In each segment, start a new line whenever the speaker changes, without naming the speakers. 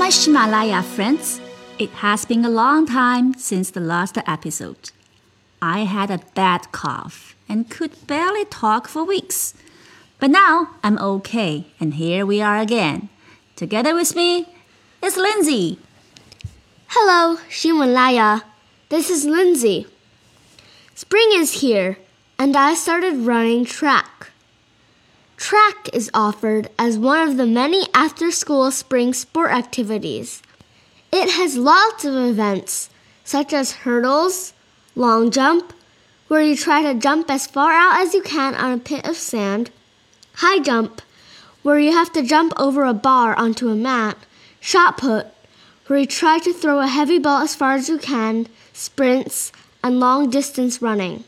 Himalaya friends, it has been a long time since the last episode. I had a bad cough and could barely talk for weeks. But now I'm okay, and here we are again. Together with me is Lindsay.
Hello, Himalaya. This is Lindsay. Spring is here, and I started running track. Track is offered as one of the many after-school spring sport activities. It has lots of events, such as hurdles, long jump, where you try to jump as far out as you can on a pit of sand, high jump, where you have to jump over a bar onto a mat, shot put, where you try to throw a heavy ball as far as you can, sprints, and long-distance running.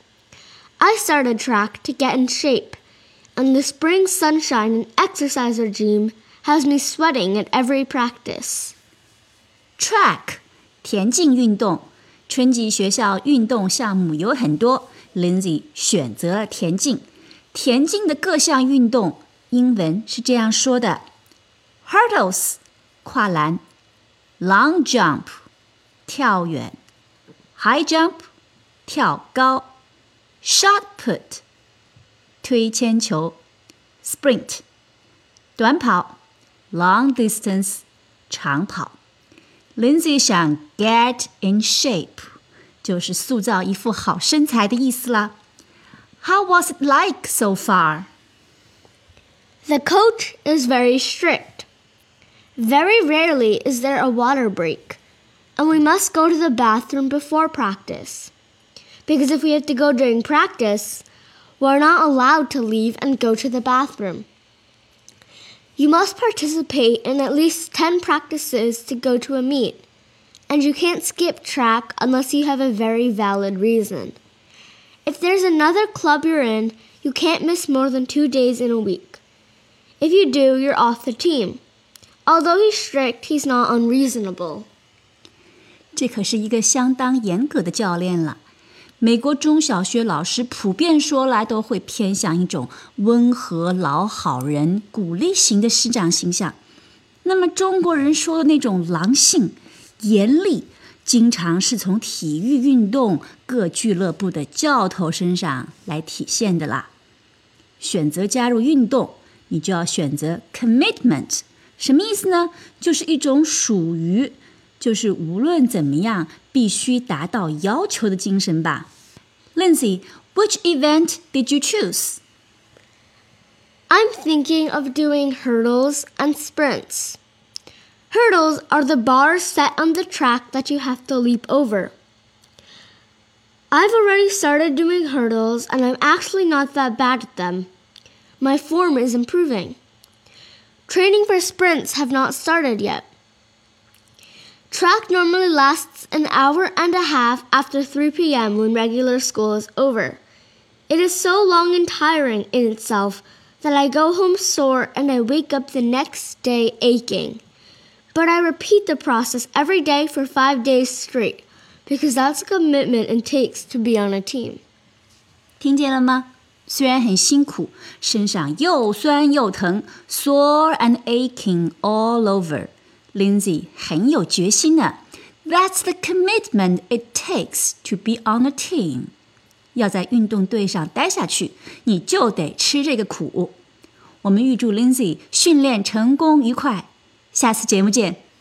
I started track to get in shape, and the spring sunshine and exercise regime has me sweating at every practice.
Track 田径运动，春季学校运动项目有很多 Lindsay 选择了田径。田径的各项运动英文是这样说的 Hurdles 跨栏 Long jump 跳远 High jump 跳高 Shot put 推铅球 Sprint 短跑 Long distance 长跑。Lindsay 想 get in shape 就是塑造一副好身材的意思啦。How was it like so far?
The coach is very strict. Very rarely is there a water break, and we must go to the bathroom before practice. Because if we have to go during practice, we're not allowed to leave and go to the bathroom. You must participate in at least 10 practices to go to a meet, and you can't skip track unless you have a very valid reason. If there's another club you're in, you can't miss more than 2 days in a week. If you do, you're off the team. Although he's strict, he's not unreasonable.
这可是一个相当严格的教练了。美国中小学老师普遍说来都会偏向一种温和老好人、鼓励型的师长形象。那么中国人说的那种狼性、严厉，经常是从体育运动各俱乐部的教头身上来体现的啦。选择加入运动，你就要选择 commitment， 什么意思呢？就是一种属于，就是无论怎么样必须达到要求的精神吧。Lindsay, which event did you choose?
I'm thinking of doing hurdles and sprints. Hurdles are the bars set on the track that you have to leap over. I've already started doing hurdles, and I'm actually not that bad at them. My form is improving. Training for sprints have not started yet. Track normally lasts an hour and a half after 3 p.m. when regular school is over. It is so long and tiring in itself that I go home sore and I wake up the next day aching. But I repeat the process every day for 5 days straight, because that's a commitment it takes to be on a team.
听见了吗？虽然很辛苦，身上又酸又疼 sore and aching all over. Lindsay 很有决心呢。That's the commitment it takes to be on a team. 要在运动队上待下去，你就得吃这个苦。我们预祝 Lindsay 训练成功愉快。下次节目见。